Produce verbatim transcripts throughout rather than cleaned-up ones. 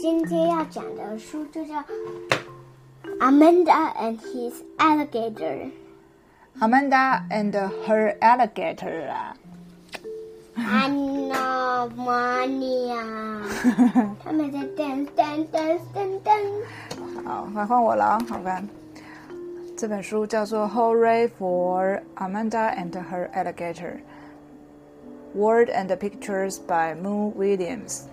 今天要讲的书就叫 Amanda and His Alligator. Amanda and Her Alligator 啊。 Anna Mania 他们在 dance dance dance dance dance。 好，来换我了啊，好看。这本书叫做 Hooray for Amanda and Her Alligator. Word and Pictures by Moo Williams.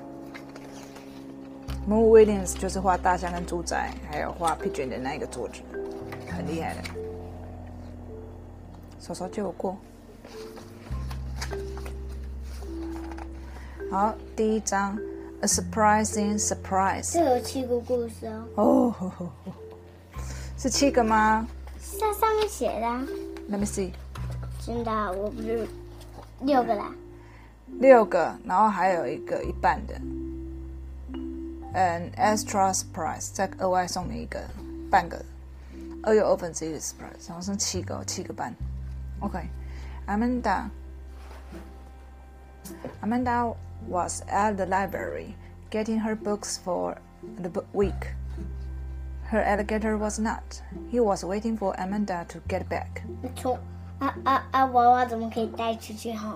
Moo Williams 就是画大象跟猪仔，还有画 pigeon 的那一个作者，很厉害的。手手借我过。好，第一章 A Surprising Surprise。 这有七个故事哦。 哦，是七个吗？ 它上面写的、啊。 Let me see。 真的、啊，我不是六个啦。 六个，然后还有一个一半的。An extra surprise， 再额外送你一个半个，二又二分之一的 surprise， 然后剩七个，七个半。OK，Amanda。Amanda was at the library getting her books for the week. Her alligator was not. He was waiting for Amanda to get back. 从啊啊啊娃娃怎么可以带出去哈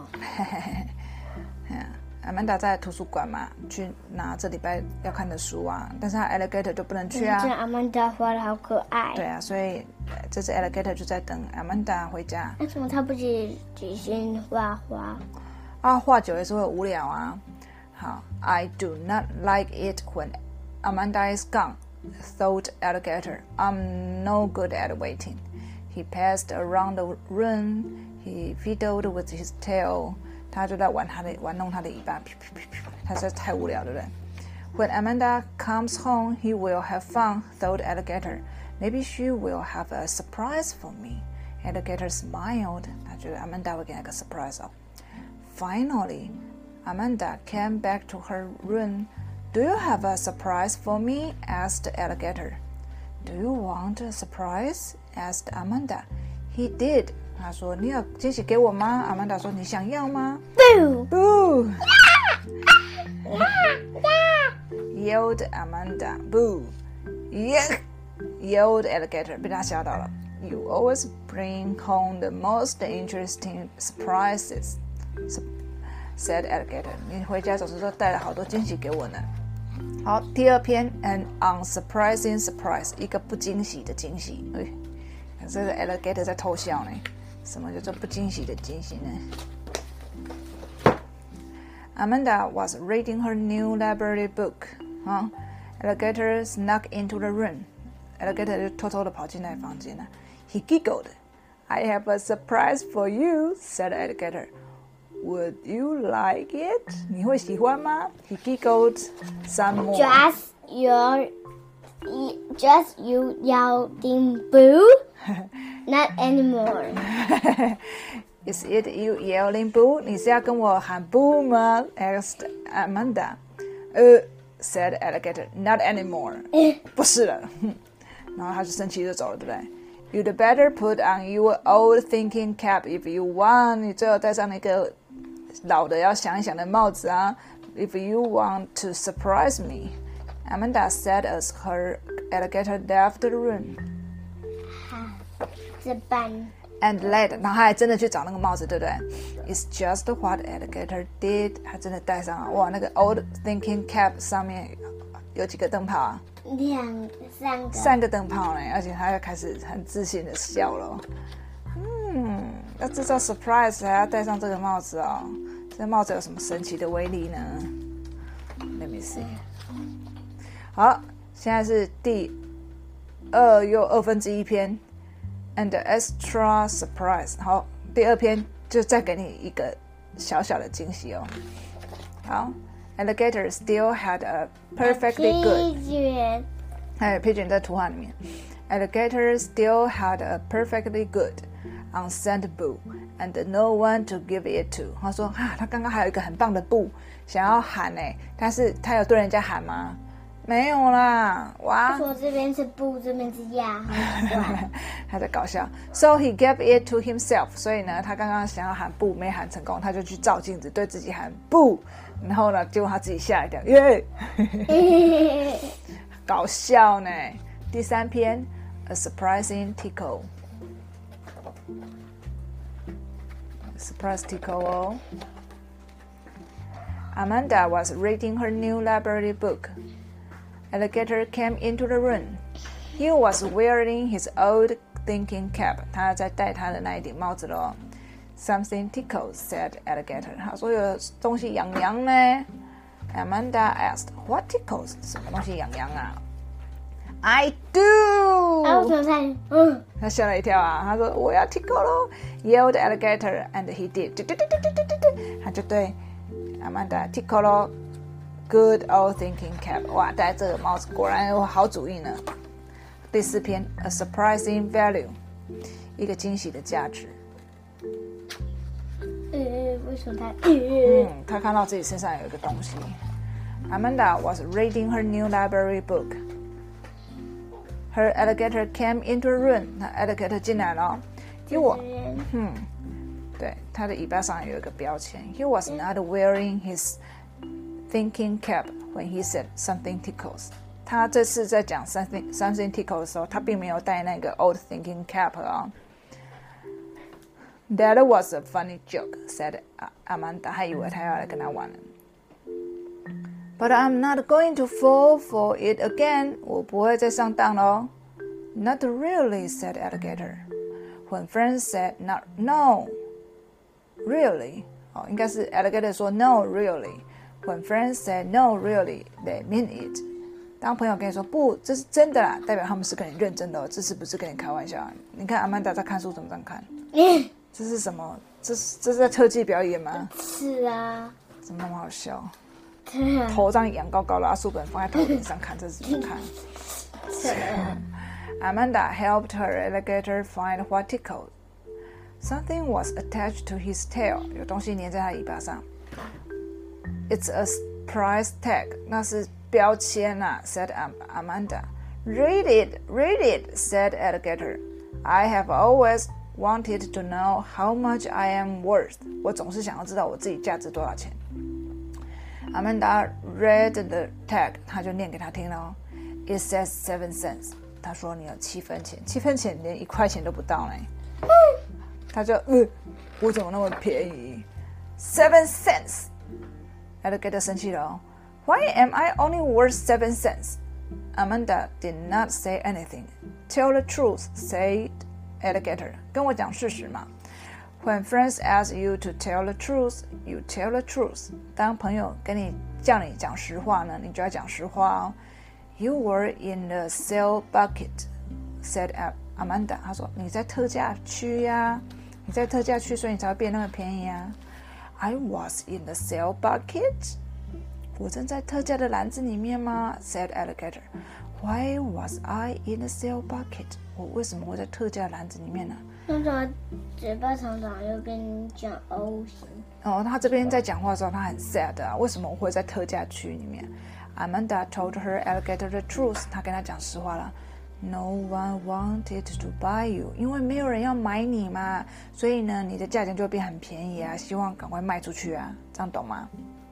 ？Amanda 在图书馆嘛，去拿这礼拜要看的书啊，但是她 alligator 就不能去啊。 这 Amanda 画的好可爱。 对啊，所以这只 alligator 就在等 Amanda 回家。 为什么他不只只先画画？ 啊，画久也是会无聊啊。好 ，I do not like it when Amanda is gone, thought alligator. I'm no good at waiting. He passed around the room. He fiddled with his tail. 他就在玩他的玩弄他的尾巴，他实在太无聊，对不对 ？When Amanda comes home, he will have fun, thought alligator. Maybe she will have a surprise for me. Alligator smiled. 他觉得 Amanda 会给他个 surprise 哦。Finally, Amanda came back to her room. Do you have a surprise for me? Asked alligator. Do you want a surprise? Asked Amanda. He did. 他说：“你有惊喜给我吗？” Amanda 说：“你想要吗？” Boo! Boo! Yelled Amanda. Boo! Yuck! Yelled alligator. 被他吓到了。You always bring home the most interesting surprises, said alligator. 你回家总是都带了好多惊喜给我呢。好，第二篇 An unsurprising surprise. 一个不惊喜的惊喜。哎，这个 alligator 在偷笑呢。什么叫做不惊喜的惊喜呢 ？Amanda was reading her new library book. 啊 ，Alligator snuck into the room. Alligator 就偷偷的跑进来房间了。He giggled. I have a surprise for you, said Alligator. Would you like it? 你会喜欢吗 ？He giggled some more. Just your, just you yelling boo. Not anymore. Is it you yelling boo? 你是要跟我喊 boo 吗 ？Asked Amanda. 呃、uh, ，said alligator. Not anymore. 不是了。然后他就生气就走了，对不对 ？You'd better put on your old thinking cap if you want. 你最好戴上那个老的要想一想的帽子啊。If you want to surprise me, Amanda said as her alligator left the room. 这半 And led， 然后他还真的去找那个帽子，对不对 ？It's just what alligator did。他真的戴上了，哇，那个 old thinking cap 上面有几个灯泡啊？ 两三个， 三个灯泡呢，而且他又开始很自信的笑了。嗯，要制造 surprise 还要戴上这个帽子哦。这帽子有什么神奇的威力呢 ？Let me see。好，现在是第二又二分之一篇。And the extra surprise. 好，第二篇就再给你一个小小的惊喜哦。好 ，Alligator still had a perfectly good. Pigeon. 还有 pigeon 在图画里面。Alligator still had a perfectly good unsent boo, and no one to give it to. 他说啊，他刚刚还有一个很棒的 boo 想要喊呢，但是他有对人家喊吗？ 没有啦，哇！ 说这边是布，这边是鸭，好奇怪。 他在搞笑。So he gave it to himself. 所以呢，他刚刚想要喊不，没喊成功，他就去照镜子，对自己喊不。然后呢，结果他自己吓一跳，耶！搞笑呢。第三篇 ，A surprising tickle. Surprise tickle 哦。Amanda was reading her new library book. Alligator came into the room. He was wearing his old thinking cap. 他在戴他的那一顶帽子咯。Something tickles, said Alligator. 他说有东西痒痒呢。Amanda asked, "What tickles?" 什么东西痒痒啊 ？I do. 啊，我怎么猜？嗯， 他吓了一跳啊！他说我要 tickle 咯 ，yelled Alligator, and he did. 他就对 Amanda tickle 咯。Good old thinking cap. 哇，戴这个帽子果然有好主意呢。第四篇 A surprising value. 一个惊喜的价值。 呃，为什么他？ 嗯，他看到自己身上有一个东西。Amanda was reading her new library book. Her alligator came into the room. 那 alligator 进来了。He was, 嗯，对，他的尾巴上有一个标签。He was not wearing his thinking cap when he said something tickles. 他这次在讲 something something tickles 的时候，他并没有戴那个 old thinking cap 啊。That was a funny joke, said Amanda. 还以为他要来跟他玩了。But I'm not going to fall for it again. 我不会再上当咯。Not really, said Alligator. When friends said not no, really. 哦，应该是 Alligator 说 no, really. When friends said no, really, they mean it. 当朋友跟你说不，这是真的啦，代表他们是跟你认真的哦，这是不是跟你开玩笑啊？你看阿曼达在看书怎么这样看？这是什么？这是这是在特技表演吗？ 是啊， 怎么那么好笑？ 对啊， 头这样仰高高的，把书本放在头顶上看，这是怎么看？Amanda helped her alligator find what tickled. Something was attached to his tail. 有东西粘在他尾巴上。It's a price tag. 那是标签啊 said Amanda. Read it, read it, said Alligator. I have always wanted to know how much I am worth. 我总是想要知道我自己价值多少钱。Amanda read the tag. 他就念给他听了。It says seven cents. 他说你有七分钱，七分钱连一块钱都不到呢。他就呃，我怎么那么便宜 ？Seven cents. Alligator 生气了哦。Why am I only worth seven cents? Amanda did not say anything. Tell the truth, said Alligator. 跟我讲事实嘛。When friends ask you to tell the truth, you tell the truth. 当朋友跟你叫你讲实话呢，你就要讲实话哦。You were in the sale bucket, said Amanda. 她说你在特价区呀，你在特价区，所以你才会变那么便宜啊。I was in the sale bucket. 我正在特价的篮子里面吗 ？said Alligator. Why was I in the sale bucket? 我为什么会在特价篮子里面呢？ 那种嘴巴长长又跟你讲 O 型。 哦，他这边在讲话的时候，他很 sad 啊，为什么我会在特价区里面 ？Amanda told her alligator the truth. 她跟他讲实话了。No one wanted to buy you. 因为没有人要买你嘛，所以呢，你的价钱就会变很便宜啊，希望赶快卖出去啊，这样懂吗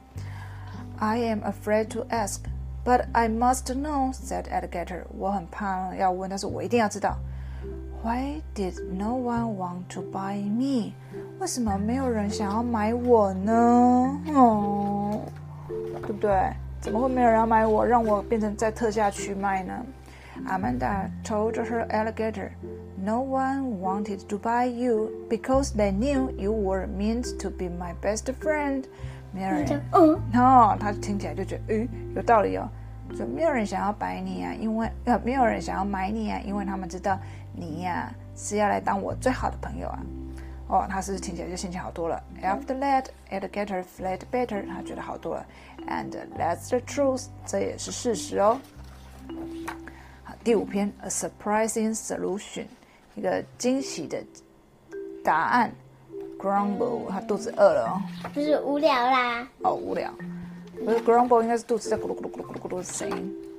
？I am afraid to ask, but I must know, said Alligator. 我很怕要问，但是我一定要知道。Why did no one want to buy me? 为什么没有人想要买我呢？哦，对不对？怎么会没有人要买我，让我变成在特价区卖呢 ？Amanda told her alligator, no one wanted to buy you because they knew you were meant to be my best friend. 没有人， 嗯， 哦，他听起来就觉得，诶，有道理哦。就没有人想要买你啊，因为呃，没有人想要买你啊，因为他们知道你呀、啊、是要来当我最好的朋友啊。哦，他是不是听起来就心情好多了 ？After that, alligator felt better. 他觉得好多了。And that's the truth. 这也是事实哦。好，第五篇 A surprising solution. 一个惊喜的答案。Grumble. 他肚子饿了哦。 不是无聊啦。 哦，无聊。不是 grumble 应该是肚子在咕噜咕噜咕噜咕噜咕噜的声音。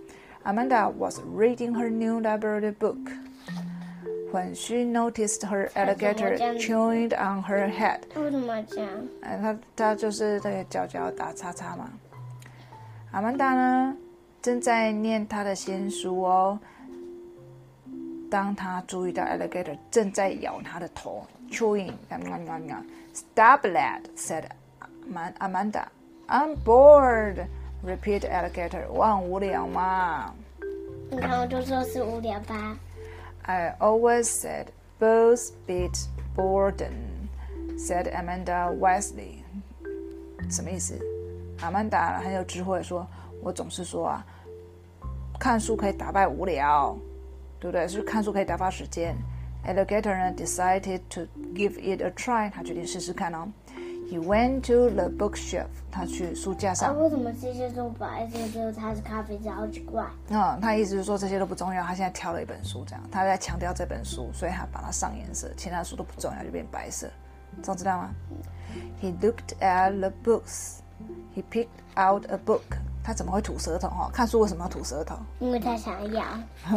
Amanda was reading her new library book when she noticed her alligator chewing on her head. 为什么这样？ 哎，他他就是这个角角打叉叉嘛。阿曼达呢，正在念她的新书哦。当她注意到 alligator 正在咬她的头 ，chewing， Stop, lad, said Amanda. I'm bored. Repeat alligator. 我很无聊嘛。 你看，我就说是无聊吧。 I always said both beat boredom, said Amanda wisely. 什么意思？阿曼达很有智慧说，我总是说啊，看书可以打败无聊，对不对？是看书可以打发时间。Alligator 呢 decided to give it a try. 他决定试试看哦。He went to the bookshelf. 他去书架上。 啊，为什么这些都白色的？它是咖啡色，好奇怪。 嗯，他意思是说这些都不重要，他现在挑了一本书，这样他在强调这本书，所以他把它上颜色，其他书都不重要，就变白色。这样知道吗？ He looked at the books. He picked out a book. 他怎么会吐舌头？哈，看书为什么要吐舌头？ 因为他想要。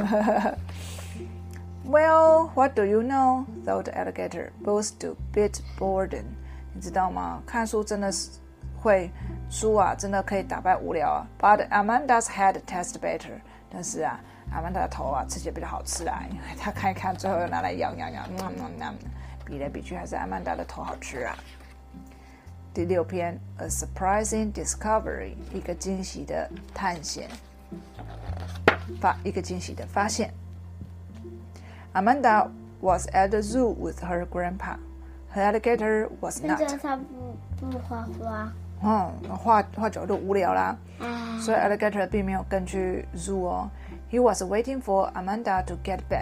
Well, what do you know? Thought the alligator. Both do beat boredom. 你知道吗？看书真的是会书啊，真的可以打败无聊啊。But Amanda's head tasted better. 但是啊，阿曼达的头啊，吃起来比较好吃啊，因为他看一看，最后又拿来咬咬咬，嗯嗯嗯，比来比去还是阿曼达的头好吃啊。第六篇 ，A surprising discovery， 一个惊喜的探险，发一个惊喜的发现。Amanda was at the zoo with her grandpa. Her alligator was not. 但是他不不画画。 嗯，画画久就无聊啦， 啊、 所以 alligator 并没有跟去 zoo 哦。He was waiting for Amanda to get back.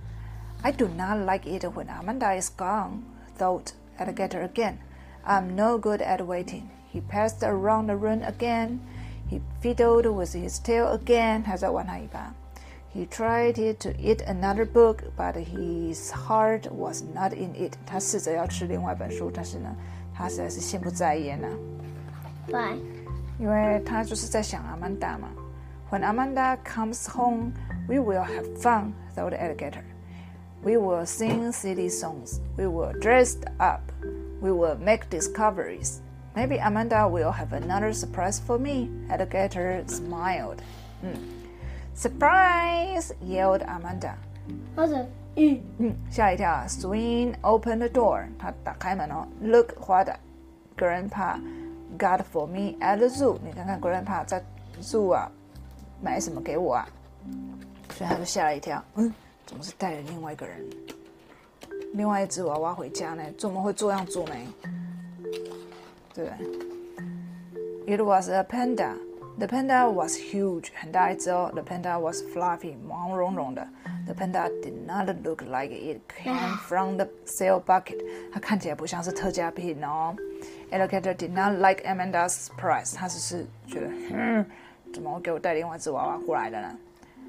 I do not like it when Amanda is gone, thought alligator again. I'm no good at waiting. He passed around the room again. He fiddled with his tail again. 还在玩他尾巴。He tried to eat another book, but his heart was not in it. 他试着要吃另外一本书，但是呢，他实在是心不在焉啊。 Why? 因为他就是在想阿曼达嘛。When Amanda comes home, we will have fun, thought the alligator. We will sing silly songs. We will dress up. We will make discoveries. Maybe Amanda will have another surprise for me. Alligator smiled. 嗯 Surprise! Yelled Amanda. 或者，嗯嗯，吓一跳啊 Swing opened the door. 他打开门哦。Look what Grandpa got for me at the zoo. 你看看 Grandpa 在 zoo 啊，买什么给我啊？所以他就吓了一跳。嗯，怎么是带了另外一个人？另外一只娃娃回家呢？怎么会这样做呢？对不对 ？It was a panda. The panda was huge. 很大一只哦。The panda was fluffy. 毛茸茸的。The panda did not look like it came from the sale bucket. 它看起来不像是特价品哦。Alligator did not like Amanda's surprise. 他只是觉得，嗯，怎么会给我带另外一只娃娃过来的呢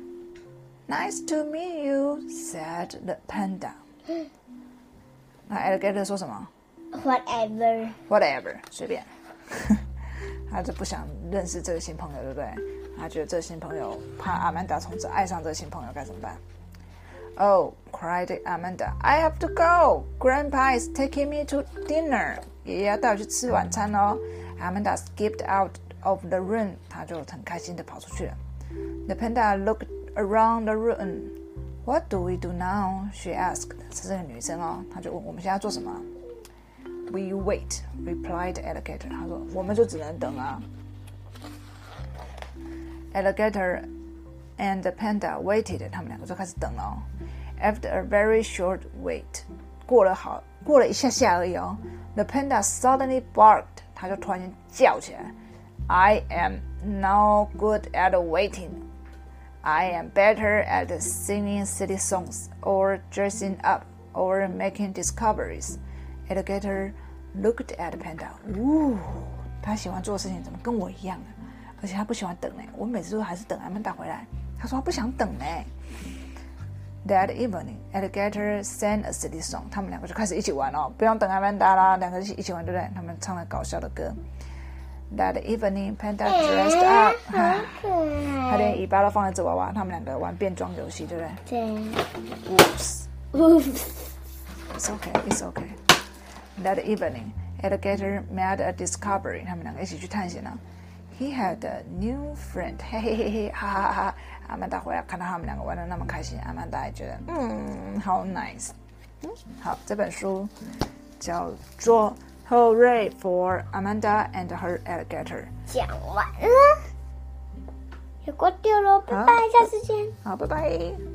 ？Nice to meet you, said the panda. 那 Alligator 说什么 ，whatever. Whatever， 随便。他就不想认识这个新朋友，对不对？他觉得这个新朋友怕阿曼达从此爱上这个新朋友，该怎么办 ？Oh, cried Amanda, I have to go. Grandpa is taking me to dinner. 爷爷要带我去吃晚餐哦。Amanda skipped out of the room. 他就很开心的跑出去了。The panda looked around the room. What do we do now? She asked. 是这个女生哦，她就问我们现在要做什么 ？We wait, replied alligator. 他说我们就只能等啊。Alligator and the panda waited. 他们两个就开始等了哦。After a very short wait, 过了好过了一下下而已哦。The panda suddenly barked. 他就突然间叫起来。I am now good at waiting. I am better at singing silly songs, or dressing up, or making discoveries. Alligator looked at panda. 呜，他喜欢做的事情怎么跟我一样啊？而且他不喜欢等呢。我每次都还是等阿曼达回来。他说他不想等呢。That evening, Alligator sang a silly song. 他们两个就开始一起玩哦，不用等阿曼达啦，两个一起一起玩，对不对？他们唱了搞笑的歌。 That evening, Panda dressed up. 好可他爱。 连尾巴都放在纸娃娃，他们两个玩变装游戏，对不对对。 ？Oops, Oops. it's okay, it's okay. That evening, Alligator made a discovery. 他们两个一起去探险了。He had a new friend. 嘿嘿嘿嘿，哈哈哈！阿曼达回来看到他们两个玩得那么开心，阿曼达也觉得嗯，好 nice。嗯，好，这本书叫做 Hooray for Amanda and Her Alligator。 讲完了，有过丢了，拜拜，下次见。 好，拜拜。